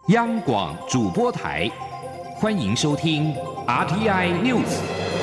央广主播台，欢迎收听 RTI News。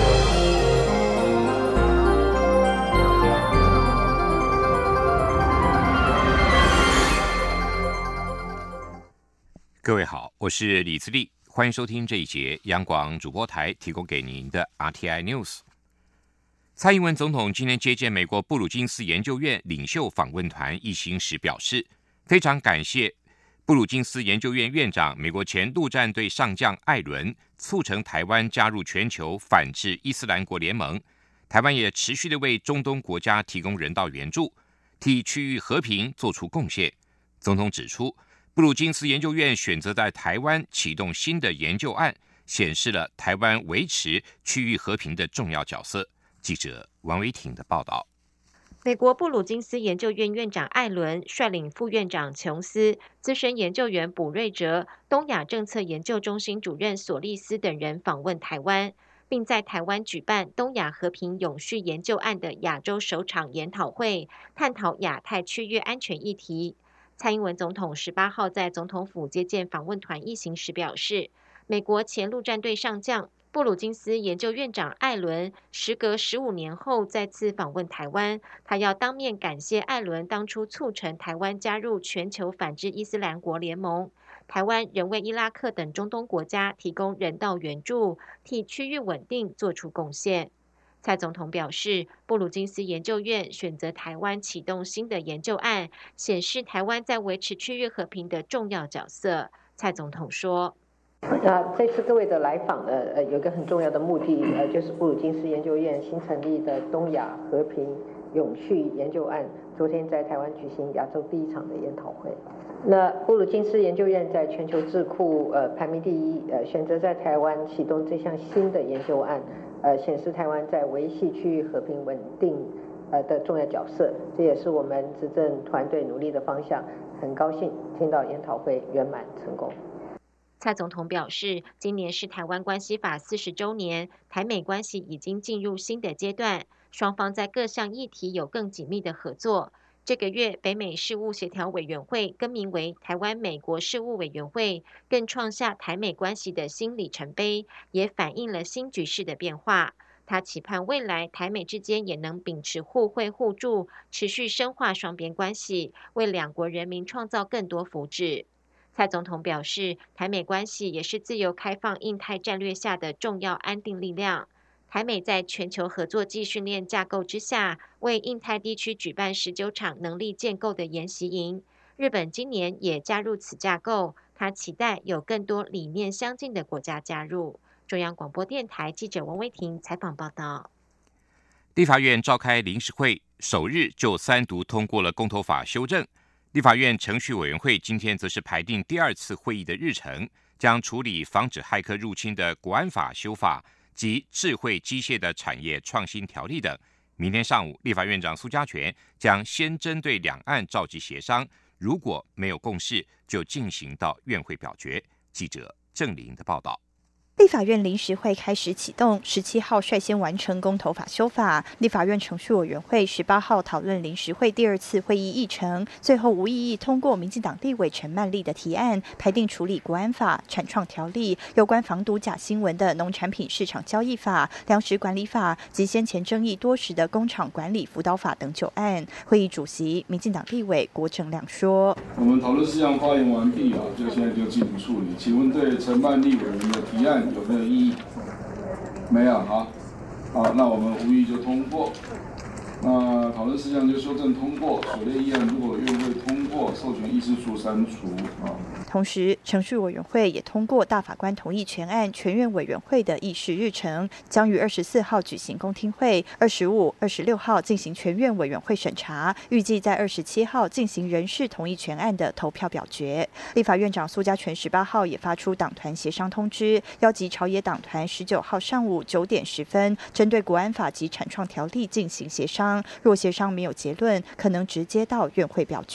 各位好，我是李自立，欢迎收听这一节央广主播台提供给您的 RTI News。蔡英文总统今天接见美国布鲁金斯研究院领袖访问团一行时表示，非常感谢布鲁金斯研究院院长、美国前陆战队上将艾伦促成台湾加入全球反制伊斯兰国联盟。台湾也持续地为中东国家提供人道援助，替区域和平做出贡献。总统指出，布鲁金斯研究院选择在台湾启动新的研究案，显示了台湾维持区域和平的重要角色。记者王维婷的报道。 美国布鲁金斯研究院院长艾伦率领副院长琼斯、资深研究员卜瑞哲、东亚政策研究中心主任索利斯等人访问台湾，并在台湾举办东亚和平永续研究案的亚洲首场研讨会，探讨亚太区域安全议题。蔡英文总统18号在总统府接见访问团一行时表示，美国前陆战队上将布鲁金斯研究院长艾伦时隔15年后再次访问台湾，他要当面感谢艾伦当初促成台湾加入全球反制伊斯兰国联盟。台湾仍为伊拉克等中东国家提供人道援助，替区域稳定做出贡献。蔡总统表示，布鲁金斯研究院选择台湾启动新的研究案，显示台湾在维持区域和平的重要角色。蔡总统说， 这次各位的来访呢，有一个很重要的目的，就是布鲁金斯研究院新成立的东亚和平永续研究案，昨天在台湾举行亚洲第一场的研讨会。那布鲁金斯研究院在全球智库排名第一，选择在台湾启动这项新的研究案，显示台湾在维系区域和平稳定的重要角色，这也是我们执政团队努力的方向。很高兴听到研讨会圆满成功。 蔡总统表示，今年是台湾关系法40周年，台美关系已经进入新的阶段，双方在各项议题有更紧密的合作。这个月，北美事务协调委员会更名为台湾美国事务委员会，更创下台美关系的新里程碑，也反映了新局势的变化。他期盼未来台美之间也能秉持互惠互助，持续深化双边关系，为两国人民创造更多福祉。蔡总统表示，台美关系也是自由开放印太战略下的重要安定力量。台美在全球合作暨训练架构之下，为印太地区举办19场能力建构的研习营。日本今年也加入此架构，他期待有更多理念相近的国家加入。中央广播电台记者王威婷采访报道。 立法院召开临时会，首日就3读通过了公投法修正。立法院程序委员会今天则是排定第2次会议的日程，将处理防止骇客入侵的国安法修法及智慧机械的产业创新条例等。明天上午，立法院长苏家全将先针对两岸召集协商，如果没有共识，就进行到院会表决。记者郑玲的报道。 立法院临时会开始启动，17号率先完成公投法修法。立法院程序委员会18号讨论临时会第2次会议议程，最后无异议通过民进党立委陈曼丽的提案，排定处理国安法、产创条例、有关防毒假新闻的农产品市场交易法、粮食管理法及先前争议多时的工厂管理辅导法等9案。会议主席民进党立委郭正亮说：“ 我们讨论事项发言完毕就现在就进行处理。请问对陈曼丽委员的提案有没有异议？没有，好，那我们无异议就通过。那讨论事项就修正通过，所列议案如果院会通过，授权议事处删除同时，程序委员会也通过大法官同意全案全院委员会的议事日程，将于24号举行公听会，25、26号进行全院委员会审查，预计在27号进行人事同意全案的投票表决。立法院长苏家全18号也发出党团协商通知，邀集朝野党团19号上午9点10分，针对国安法及产创条例进行协商。若协商没有结论，可能直接到院会表决。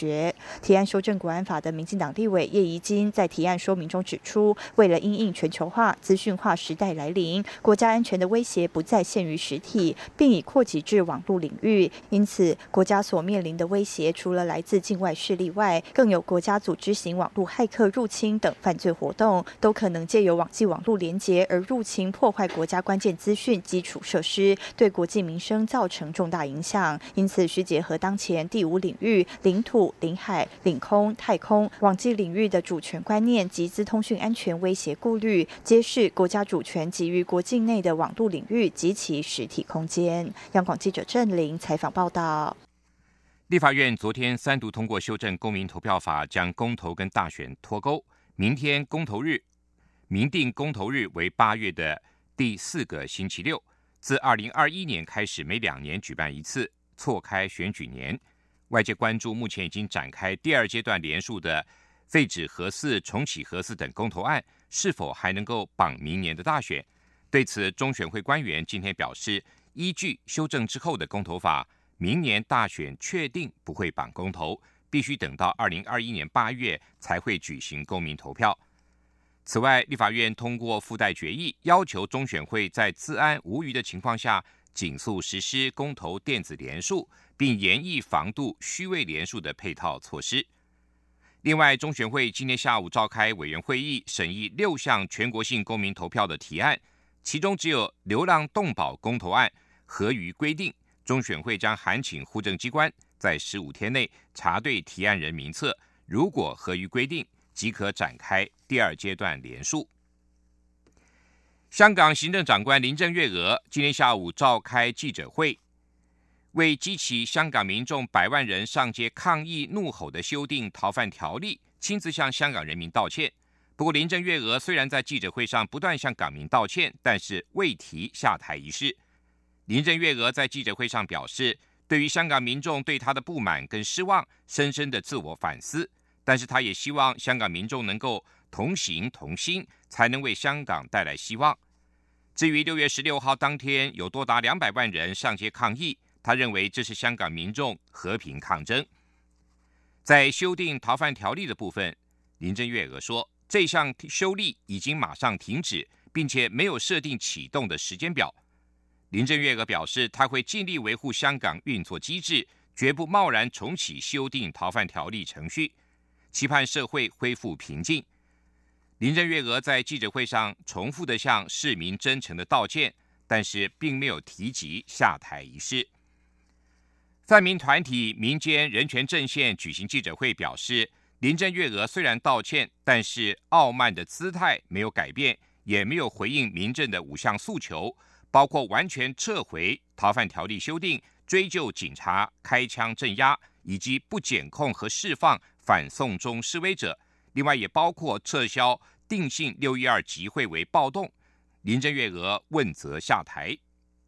提案修正国安法的民进党立委叶宜津在提案说明中指出，为了因应全球化、资讯化时代来临，国家安全的威胁不再限于实体，并已扩及至网络领域。因此，国家所面临的威胁，除了来自境外势力外，更有国家组织型网络骇客入侵等犯罪活动，都可能借由网际网络连结而入侵破坏国家关键资讯基础设施，对国际民生造成重大影响。因此，需结合当前第5领域领土、领海、领空、太空、网际领域的主权观念及资通讯安全威胁顾虑，揭示国家主权基于国境内的网络领域及其实体空间。央广记者郑玲采访报道。 立法院昨天3读通过修正公民投票法，将公投跟大选脱钩。明定公投日为8月的第4个星期六。自2021年开始，每2年举办一次，错开选举年。外界关注目前已经展开第2阶段联署的废止核四、重启核四等公投案，是否还能够绑明年的大选？对此，中选会官员今天表示，依据修正之后的公投法，明年大选确定不会绑公投，必须等到2021年8月才会举行公民投票。此外，立法院通过附带决议，要求中选会在资安无虞的情况下，紧速实施公投电子联署，并严厉防杜虚伪联署的配套措施。另外，中选会今天下午召开委员会议，审议6项全国性公民投票的提案，其中只有流浪动保公投案合于规定，中选会将函请户政机关在15天内查对提案人名册，如果合于规定，即可展开第2阶段联署。香港行政长官林郑月娥今天下午召开记者会，为激起香港民众100万人上街抗议怒吼的修订逃犯条例，亲自向香港人民道歉。不过，林郑月娥虽然在记者会上不断向港民道歉，但是未提下台一事。林郑月娥在记者会上表示，对于香港民众对她的不满跟失望，深深的自我反思，但是她也希望香港民众能够同行同心，才能为香港带来希望。至于6月16号当天有多达200万人上街抗议，他认为这是香港民众和平抗争。在修订逃犯条例的部分，林郑月娥说，这项修例已经马上停止，并且没有设定启动的时间表。林郑月娥表示，她会尽力维护香港运作机制，绝不贸然重启修订逃犯条例程序，期盼社会恢复平静。林郑月娥在记者会上重复地向市民真诚的道歉，但是并没有提及下台一事。泛民团体民间人权阵线举行记者会表示，林郑月娥虽然道歉，但是傲慢的姿态没有改变，也没有回应民阵的5项诉求，包括完全撤回逃犯条例修订、追究警察开枪镇压，以及不检控和释放反送中示威者。另外也包括撤销定性612集会为暴动。林郑月娥问责下台。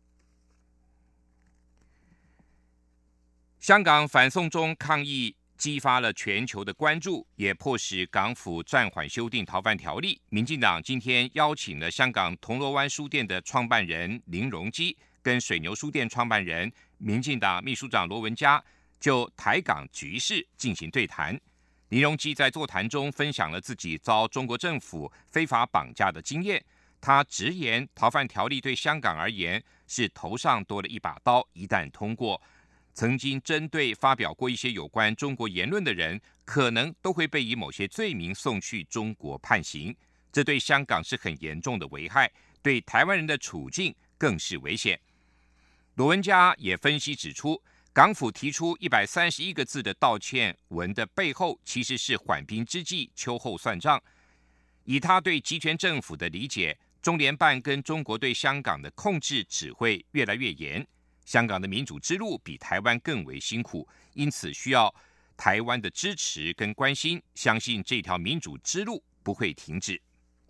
香港反送中抗议激发了全球的关注，也迫使港府暂缓修订逃犯条例。民进党今天邀请了香港铜锣湾书店的创办人林荣基跟水牛书店创办人民进党秘书长罗文嘉就台港局势进行对谈。林荣基在座谈中分享了自己遭中国政府非法绑架的经验。他直言，逃犯条例对香港而言是头上多了一把刀，一旦通过，曾经针对发表过一些有关中国言论的人，可能都会被以某些罪名送去中国判刑。这对香港是很严重的危害，对台湾人的处境更是危险。罗文嘉也分析指出，港府提出131个字的道歉文的背后，其实是缓兵之计，秋后算账。以他对集权政府的理解，中联办跟中国对香港的控制只会越来越严。香港的民主之路比台湾更为辛苦，因此需要台湾的支持跟关心，相信这条民主之路不会停止。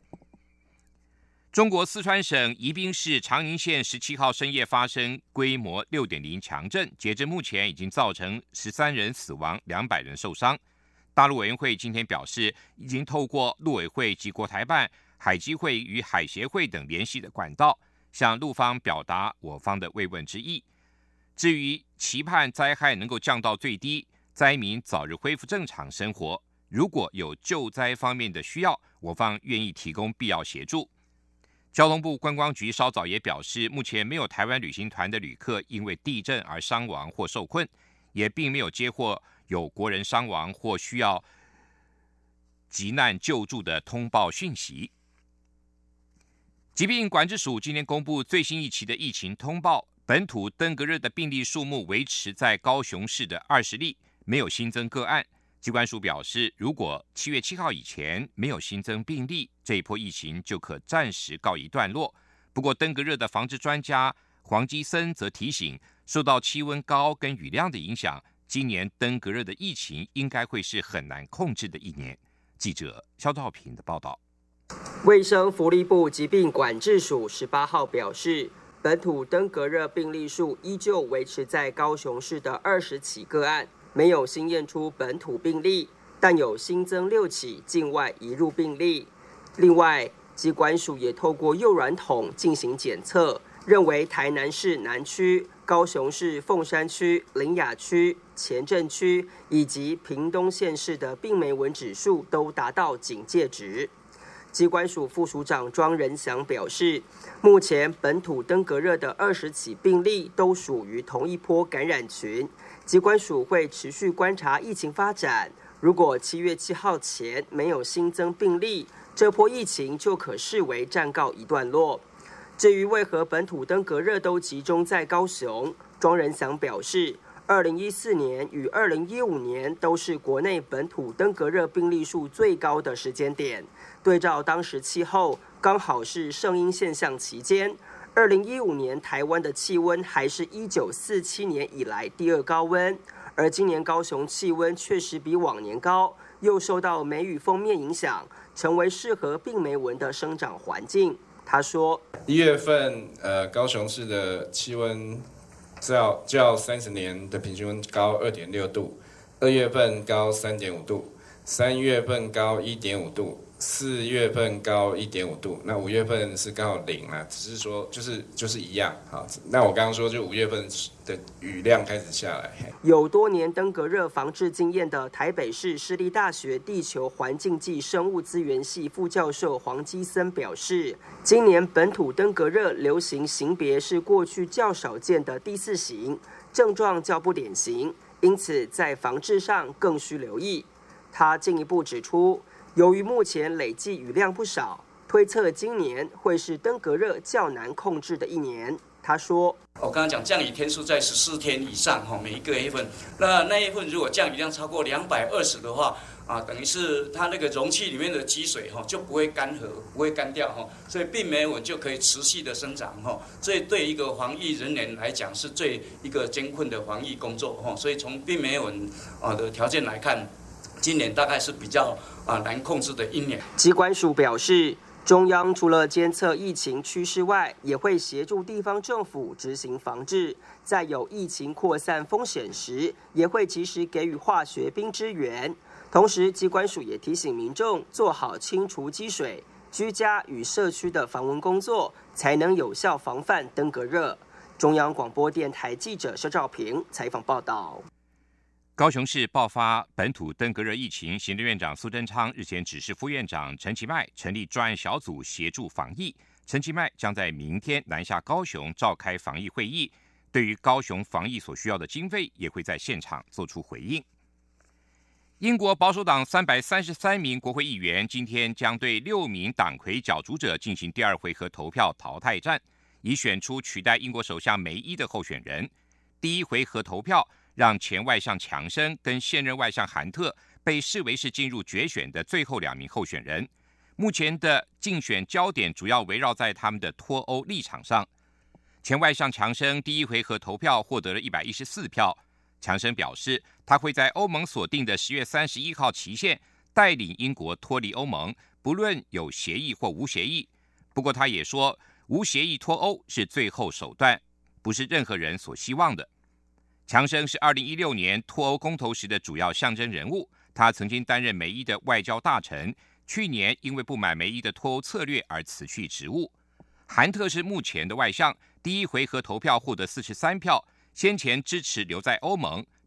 中国四川省宜宾市长宁县17号深夜发生规模 6.0 强震，截至目前已经造成13人死亡，200人受伤。大陆委员会今天表示，已经透过陆委会及国台办、海基会与海协会等联系的管道，向陆方表达我方的慰问之意。至于期盼灾害能够降到最低， 灾民早日恢复正常生活。如果有救灾方面的需要，我方愿意提供必要协助。交通部观光局稍早也表示，目前没有台湾旅行团的旅客因为地震而伤亡或受困，也并没有接获有国人伤亡或需要急难救助的通报讯息。疾病管制署今天公布最新一期的疫情通报，本土登革热的病例数目维持在高雄市的20例，没有新增个案。疾管署表示，如果7月7号以前没有新增病例，这一波疫情就可暂时告一段落。不过，登革热的防治专家黄基森则提醒，受到气温高跟雨量的影响，今年登革热的疫情应该会是很难控制的一年。记者肖兆平的报道。 卫生福利部疾病管制署18号表示，本土登革热病例数依旧维持在高雄市的20起个案，没有新验出本土病例，但有新增6起境外移入病例。另外，疾管署也透过幼软筒进行检测，认为台南市南区、高雄市凤山区、苓雅区、前镇区以及屏东县市的病媒蚊指数都达到警戒值。疾管署副署长庄仁祥表示，目前本土登革热的20起病例都属于同一波感染群，疾管署会持续观察疫情发展，如果7月7号前没有新增病例，这波疫情就可视为暂告一段落。至于为何本土登革热都集中在高雄，庄仁祥表示，2014年与2015年都是国内本土登革热病例数最高的时间点，对照当时气候刚好是圣婴现象期间，2015年台湾的气温还是1947年以来第2高温，而今年高雄气温确实比往年高，又受到梅雨锋面影响，成为适合病媒蚊的生长环境。他说 ，1月份高雄市的气温较30年的平均温高2.6度，2月份高3.5度，3月份高1.5度，4月份高1.5度，那5月份是刚好0啦，只是说就是一样。好，那我刚刚说就5月份的雨量开始下来。 有多年登革热防治经验的台北市市立大学地球环境暨生物资源系副教授黄基森表示，今年本土登革热流行型别是过去较少见的第4型，症状较不典型，因此在防治上更需留意。他进一步指出，由于目前累计雨量不少，推测今年会是登革热较难控制的一年。他说， 我刚刚讲降雨天数在14天以上，每一个月份，那月份如果降雨量超过220的话，等于是它那个容器里面的积水就不会干涸，不会干掉，所以病媒蚊就可以持续的生长，所以对一个防疫人员来讲是最一个艰困的防疫工作，所以从病媒蚊的条件来看，今年大概是比较难控制的一年。 疾管署表示，中央除了监测疫情趋势外，也会协助地方政府执行防治，在有疫情扩散风险时，也会及时给予化学兵支援。同时，疾管署也提醒民众做好清除积水、居家与社区的防蚊工作，才能有效防范登革热。中央广播电台记者肖兆平采访报道。 高雄市爆发本土登革热疫情，行政院长苏贞昌日前指示副院长陈其迈成立专案小组协助防疫。陈其迈将在明天南下高雄召开防疫会议，对于高雄防疫所需要的经费，也会在现场做出回应。英国保守党333名国会议员今天将对6名党魁角逐者进行第2回合投票淘汰战，以选出取代英国首相梅伊的候选人。第1回合投票让前外相强生跟现任外相韩特被视为是进入决选的最后2名候选人。目前的竞选焦点主要围绕在他们的脱欧立场上。前外相强生第1回合投票获得了114票。强生表示，他会在欧盟所定的10月31号期限带领英国脱离欧盟，不论有协议或无协议。不过他也说，无协议脱欧是最后手段，不是任何人所希望的。强生是2016年脱欧公投时的主要象征人物，他曾经担任梅伊的外交大臣，去年因为不满梅伊的脱欧策略而辞去职务。韩特是目前的外相，第1回合投票获得43票，先前支持留在欧盟，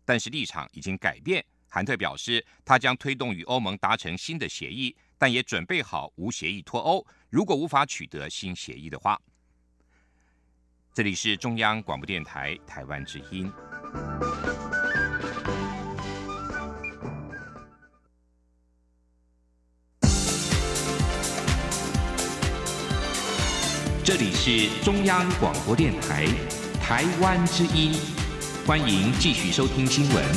但是立场已经改变。韩特表示，他将推动与欧盟达成新的协议，但也准备好无协议脱欧，如果无法取得新协议的话。这里是中央广播电台台湾之音。这里是中央广播电台台湾之音，欢迎继续收听新闻。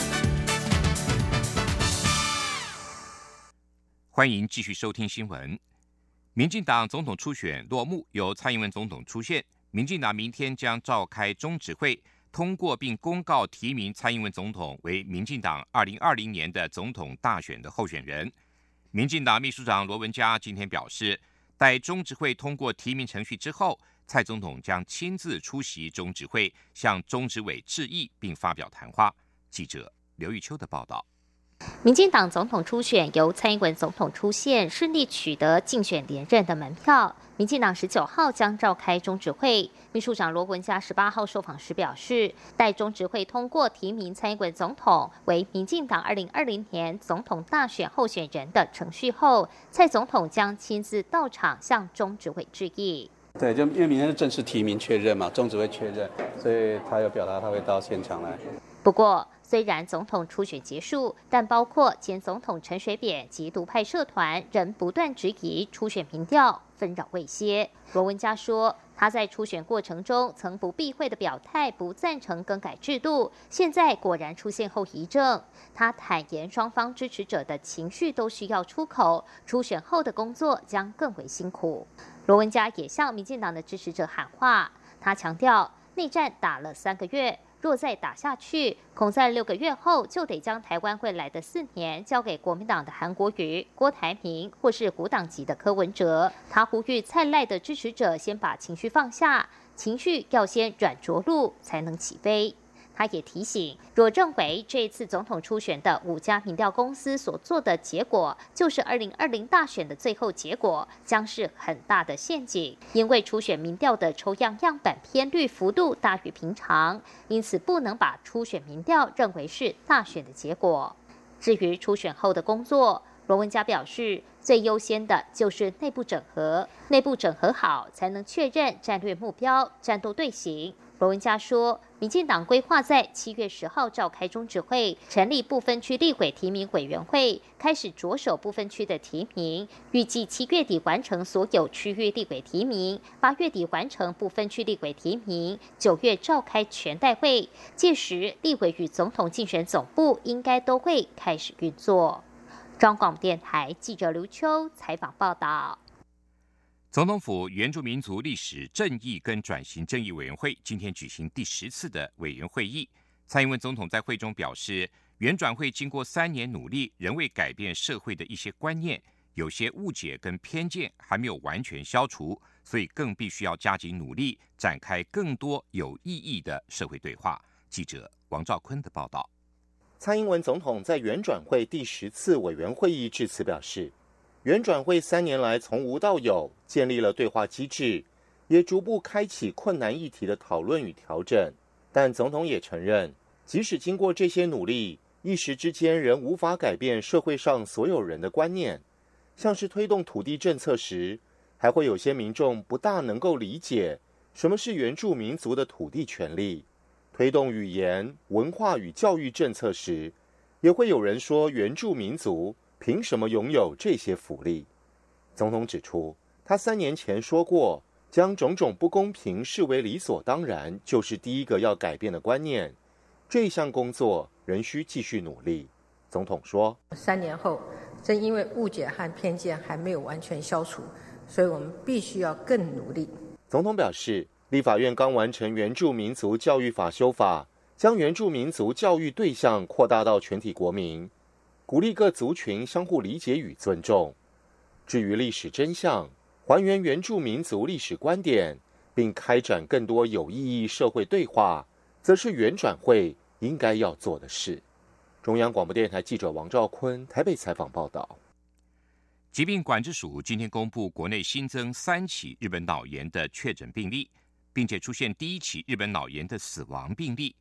欢迎继续收听新闻。民进党总统初选落幕，由蔡英文总统出现。民进党明天将召开中执会，通过并公告提名蔡英文总统为民进党2020年的总统大选的候选人。民进党秘书长罗文嘉今天表示，待中执会通过提名程序之后，蔡总统将亲自出席中执会，向中执委致意并发表谈话。记者刘玉秋的报道。 民进党总统初选由蔡英文总统出现，顺利取得竞选连任的门票。民进党19号将召开中执会，秘书长罗文嘉18号受访时表示，待中执会通过提名蔡英文总统为民进党2020年总统大选候选人的程序后，蔡总统将亲自到场向中执会致意。 对，就因为明天是正式提名确认嘛，中执会确认，所以他有表达他会到现场来。 不过，虽然总统初选结束，但包括前总统陈水扁及独派社团仍不断质疑初选民调，纷扰未歇。罗文嘉说，他在初选过程中曾不避讳的表态不赞成更改制度，现在果然出现后遗症。他坦言，双方支持者的情绪都需要出口，初选后的工作将更为辛苦。罗文嘉也向民进党的支持者喊话，他强调，内战打了3个月。若再打下去，恐在6个月后就得将台湾未来的4年交给国民党的韩国瑜、郭台铭，或是国党籍的柯文哲。他呼吁蔡赖的支持者先把情绪放下，情绪要先软着陆，才能起飞。他也提醒，若认为这一次总统初选的5家民调公司所做的结果就是2020大选的最后结果，将是很大的陷阱。因为初选民调的抽样样本偏率幅度大于平常，因此不能把初选民调认为是大选的结果。至于初选后的工作，罗文嘉表示，最优先的就是内部整合，内部整合好才能确认战略目标、战斗队形。罗文嘉说，民进党规划在7月10号召开中执会，成立不分区立委提名委员会，开始着手不分区的提名，预计7月底完成所有区域立委提名，8月底完成不分区立委提名，9月召开全代会，届时立委与总统竞选总部应该都会开始运作。中广电台记者刘秋采访报道。 总统府原住民族历史正义跟转型正义委员会今天举行第10次的委员会议。蔡英文总统在会中表示，原转会经过3年努力，仍未改变社会的一些观念，有些误解跟偏见还没有完全消除，所以更必须要加紧努力，展开更多有意义的社会对话。记者王兆坤的报道。 蔡英文总统在原转会第10次委员会议致辞表示，原转会3年来从无到有，建立了对话机制，也逐步开启困难议题的讨论与调整。但总统也承认，即使经过这些努力，一时之间仍无法改变社会上所有人的观念。像是推动土地政策时，还会有些民众不大能够理解什么是原住民族的土地权利。推动语言、文化与教育政策时，也会有人说原住民族凭什么拥有这些福利？总统指出，他3年前说过，将种种不公平视为理所当然，就是第一个要改变的观念。这项工作仍需继续努力。总统说 ，3年后，正因为误解和偏见还没有完全消除，所以我们必须要更努力。 总统表示，立法院刚完成原住民族教育法修法，将原住民族教育对象扩大到全体国民，鼓励各族群相互理解与尊重。至于历史真相，还原原住民族历史观点，并开展更多有意义社会对话，则是原转会应该要做的事。中央广播电台记者王兆坤台北采访报道。 疾病管制署今天公布，国内新增3起日本脑炎的确诊病例，并且出现第1起日本脑炎的死亡病例。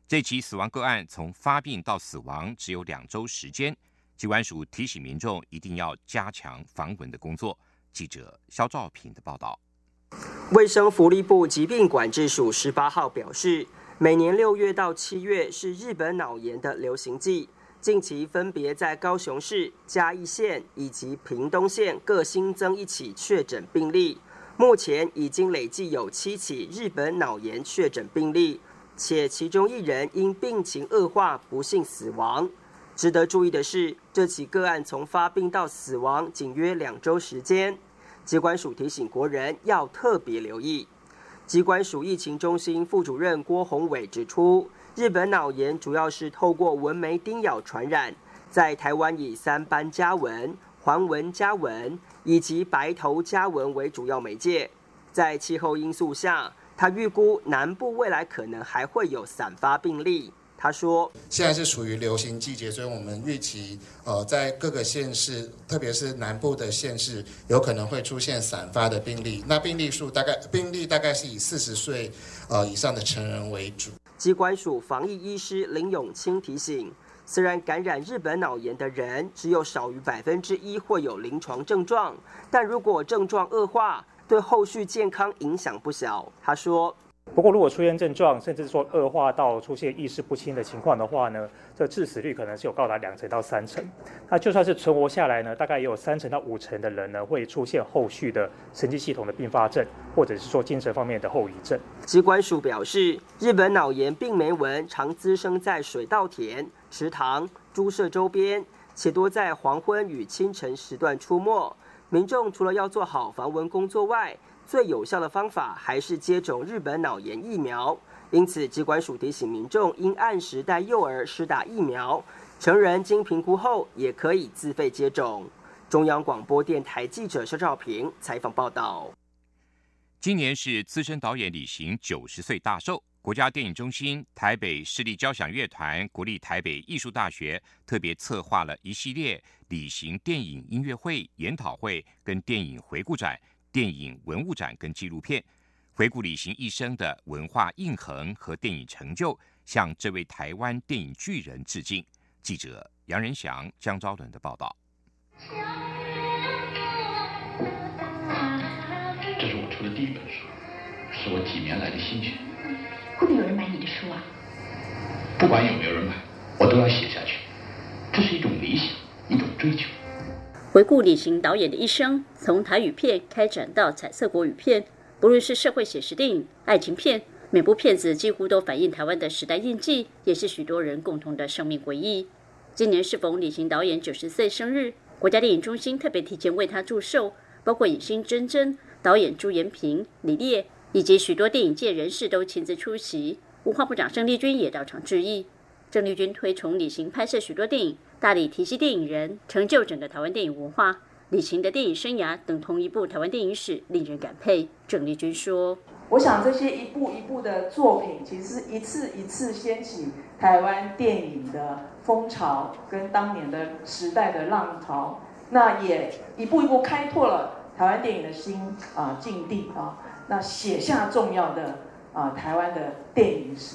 这起死亡个案从发病到死亡只有2周时间，疾管署提醒民众一定要加强防蚊的工作。记者肖兆平的报道。 卫生福利部疾病管制署18号表示，每年6月到7月是日本脑炎的流行季，近期分别在高雄市、嘉义县以及屏东县各新增1起确诊病例，目前已经累计有7起日本脑炎确诊病例，且其中1人因病情恶化不幸死亡。值得注意的是，这起个案从发病到死亡仅约2周时间。疾管署提醒国人要特别留意。疾管署疫情中心副主任郭宏伟指出，日本脑炎主要是透过蚊媒叮咬传染，在台湾以3斑家蚊、环纹家蚊以及白头家蚊为主要媒介。在气候因素下，他预估南部未来可能还会有散发病例。他说， 现在是属于流行季节，所以我们预期在各个县市，特别是南部的县市，有可能会出现散发的病例。那病例大概是以40岁以上的成人为主。 疾管署防疫医师林永清提醒，虽然感染日本脑炎的人只有少于1%会有临床症状，但如果症状恶化，对后续健康影响不小。他说， 不过，如果出现症状，甚至说恶化到出现意识不清的情况的话呢，这致死率可能是有高达2成到3成。那就算是存活下来呢，大概也有3成到5成的人呢会出现后续的神经系统的并发症，或者是说精神方面的后遗症。 疾管署表示，日本脑炎病媒蚊常滋生在水稻田、池塘、猪舍周边，且多在黄昏与清晨时段出没。民众除了要做好防蚊工作外，最有效的方法还是接种日本脑炎疫苗，因此疾管署提醒民众应按时带幼儿施打疫苗，成人经评估后也可以自费接种。中央广播电台记者肖兆平采访报道。 今年是资深导演李行90岁大寿，国家电影中心、台北市立交响乐团、国立台北艺术大学特别策划了一系列李行电影音乐会、研讨会跟电影回顾展、电影文物展跟纪录片，回顾李行一生的文化印痕和电影成就，向这位台湾电影巨人致敬。记者杨仁祥、江昭伦的报道。 这是我出的第1本书，是我几年来的心血。 会不会有人买你的书啊？ 不管有没有人买，我都要写下去。这是一种理想，一种追求。 回顾李行导演的一生，从台语片开展到彩色国语片，不论是社会写实电影、爱情片，每部片子几乎都反映台湾的时代印记，也是许多人共同的生命回忆。今年适逢李行导演90岁生日，国家电影中心特别提前为他祝寿，包括影星珍珍、导演朱延平、李烈以及许多电影界人士都亲自出席。文化部长郑丽君也到场致意。郑丽君推崇李行拍摄许多电影，大力提携电影人，成就整个台湾电影文化。李行的电影生涯等同一部台湾电影史，令人感佩。郑丽君说：“ 我想这些一部一部的作品，其实一次一次掀起台湾电影的风潮，跟当年的时代的浪潮，那也一步一步开拓了台湾电影的新境地啊，那写下重要的台湾的电影史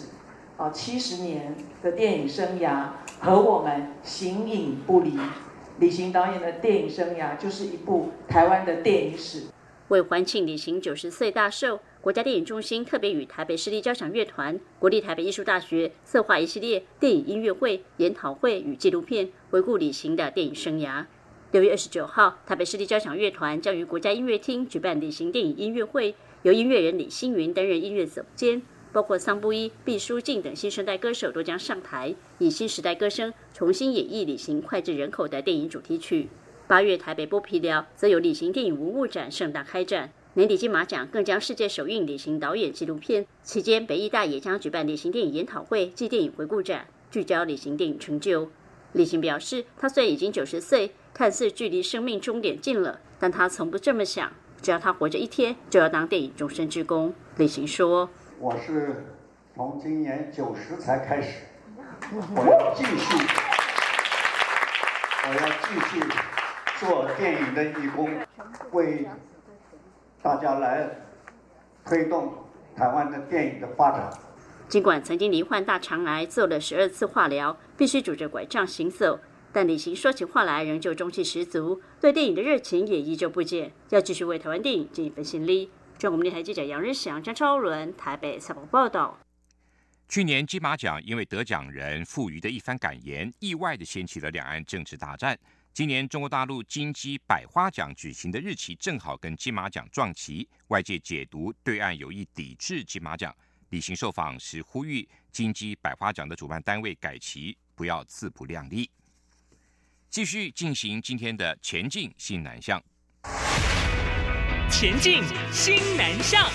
70年的电影生涯和我们形影不离。李行导演的电影生涯就是一部台湾的电影史。” 为欢庆李行90岁大寿，国家电影中心特别与台北市立交响乐团、国立台北艺术大学策划一系列电影音乐会、研讨会与纪录片，回顾李行的电影生涯。6月29号，台北市立交响乐团将于国家音乐厅举办李行电影音乐会，由音乐人李星云担任音乐总监，包括桑布伊、毕书尽等新生代歌手都将上台，以新时代歌声重新演绎李行脍炙人口的电影主题曲。8月台北剥皮寮则有李行电影文物展盛大开展，年底金马奖更将世界首映李行导演纪录片。期间，北艺大也将举办李行电影研讨会暨电影回顾展，聚焦李行电影成就。李行表示，他虽已经90岁，看似距离生命终点近了，但他从不这么想，只要他活着一天，就要当电影终身之功。李行说：“ 我是从今年90才开始，我要继续做电影的义工，为大家来推动台湾的电影的发展。” 尽管曾经罹患大肠癌，做了12次化疗，必须拄着拐杖行走，但李行说起话来仍旧中气十足，对电影的热情也依旧不减，要继续为台湾电影尽一份心力。中国电台记者杨日祥、张超伦台北采访报道。 去年金马奖因为得奖人傅余的一番感言，意外地掀起了两岸政治大战。今年中国大陆金鸡百花奖举行的日期正好跟金马奖撞期，外界解读对岸有意抵制金马奖。李行受访时呼吁金鸡百花奖的主办单位改期，不要自不量力。继续进行今天的前进新南向。 前进新南向。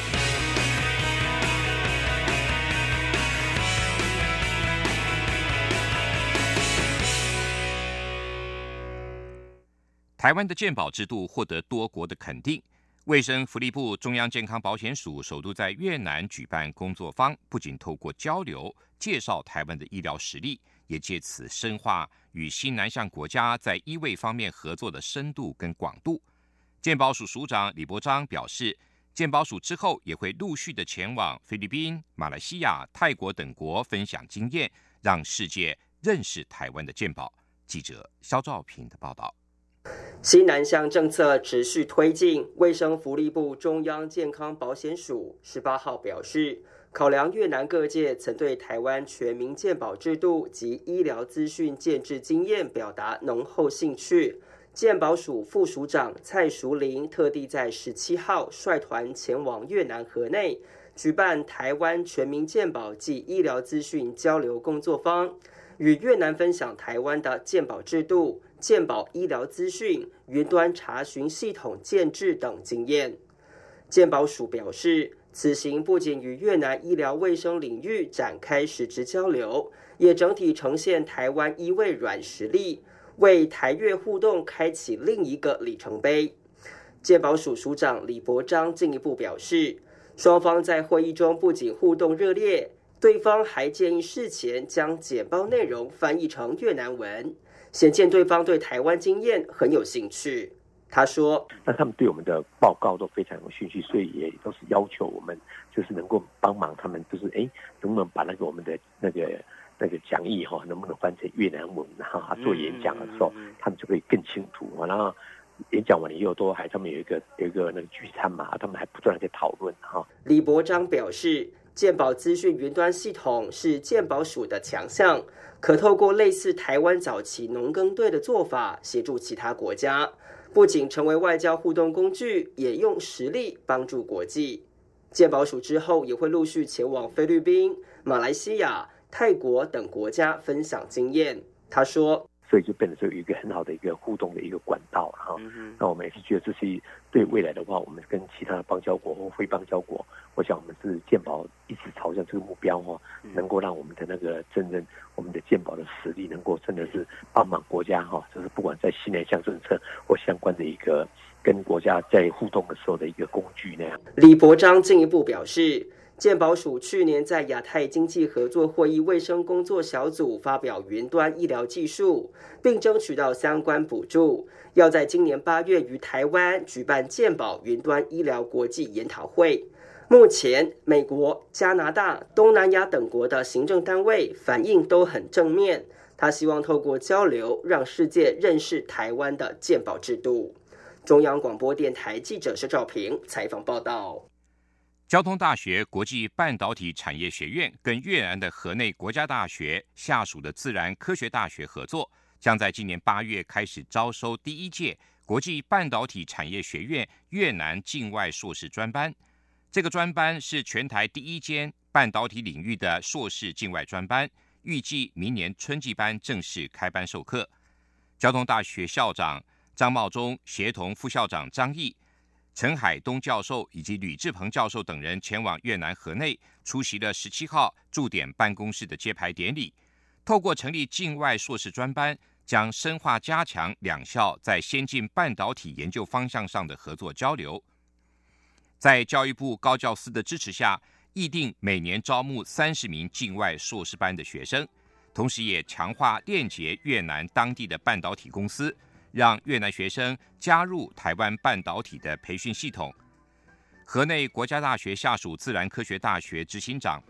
台湾的健保制度获得多国的肯定。卫生福利部中央健康保险署首度在越南举办工作坊，不仅透过交流介绍台湾的医疗实力，也借此深化与新南向国家在医卫方面合作的深度跟广度。健保署署长李伯璋表示，健保署之后也会陆续的前往菲律宾、马来西亚、泰国等国分享经验，让世界认识台湾的健保。记者肖兆平的报道。 新南向政策持续推进，卫生福利部中央健康保险署18号表示，考量越南各界曾对台湾全民健保制度及医疗资讯建制经验表达浓厚兴趣，健保署副署长蔡淑玲特地在17号率团前往越南河内，举办台湾全民健保及医疗资讯交流工作坊，与越南分享台湾的健保制度、健保医疗资讯、云端查询系统建制等经验。健保署表示，此行不仅与越南医疗卫生领域展开实质交流，也整体呈现台湾医卫软实力，为台越互动开启另一个里程碑。健保署署长李伯璋进一步表示，双方在会议中不仅互动热烈，对方还建议事前将简报内容翻译成越南文，显见对方对台湾经验很有兴趣。他说， 那他们对我们的报告都非常有兴趣，所以也都是要求我们就是能够帮忙他们，就是能不能把我们的那个讲义能不能翻成越南文，然后做演讲的时候他们就可以更清楚。然后演讲完了以后他们有一个那个聚餐嘛，他们还不断的在讨论。 李伯璋表示，健保资讯云端系统是健保署的强项，可透过类似台湾早期农耕队的做法，协助其他国家，不仅成为外交互动工具，也用实力帮助国际。健保署之后也会陆续前往菲律宾、马来西亚、泰国等国家分享经验。他说， 所以就变成是有一个很好的一个互动的一个管道。那我们也是觉得这是对未来的话，我们跟其他的邦交国或非邦交国，我想我们是健保一直朝向这个目标能够让我们的那个我们的健保的实力能够真的是帮忙国家就是不管在新南向政策或相关的一个跟国家在互动的时候的一个工具那样。 李伯璋进一步表示，健保署去年在亚太经济合作会议卫生工作小组发表云端医疗技术，并争取到相关补助，要在今年8月于台湾举办健保云端医疗国际研讨会。目前美国、加拿大、东南亚等国的行政单位反应都很正面，他希望透过交流让世界认识台湾的健保制度。中央广播电台记者施兆平采访报道。 交通大学国际半导体产业学院跟越南的河内国家大学下属的自然科学大学合作，将在今年8月开始招收第1届国际半导体产业学院越南境外硕士专班。这个专班是全台第1间半导体领域的硕士境外专班，预计明年春季班正式开班授课。交通大学校长张茂忠协同副校长张毅、陈海东教授以及吕志鹏教授等人前往越南河内，出席了17号驻点办公室的揭牌典礼。透过成立境外硕士专班，将深化加强两校在先进半导体研究方向上的合作交流。在教育部高教司的支持下，议定每年招募30名境外硕士班的学生，同时也强化链接越南当地的半导体公司，让越南学生加入台湾半导体的培训系统。河内国家大学下属自然科学大学执行长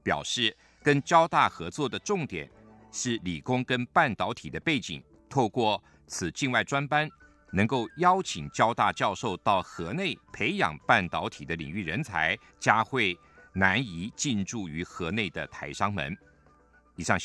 表示跟交大合作的重点是理工跟半导体的背景，透过此境外专班，能够邀请交大教授到河内培养半导体的领域人才，加惠南移进驻于河内的台商们。以上。